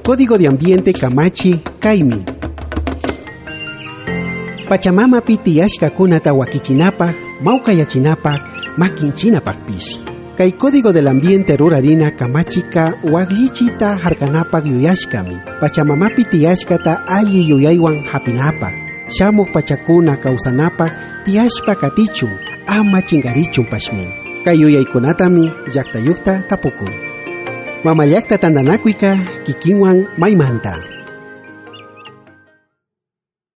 Código de Ambiente Kamachi Kaimi. Pachamama tiyashkakunata wakichinapaq, mawkayachinapaq, makinchinapaqpish. Kay Código del Ambiente rurarina kamachika waklichita harkanapaq yuyashkami. Pachamamapi tiyashkata alli yuyaywan hapinapaq. Shamuq pachakuna kawsanapaq tiyashpa katichun, ama chingarichun pashmin. Kay yuyaykunatami llaqtayuqta tapukun. Mamallakta tandanakuyka kikinwan maymanta.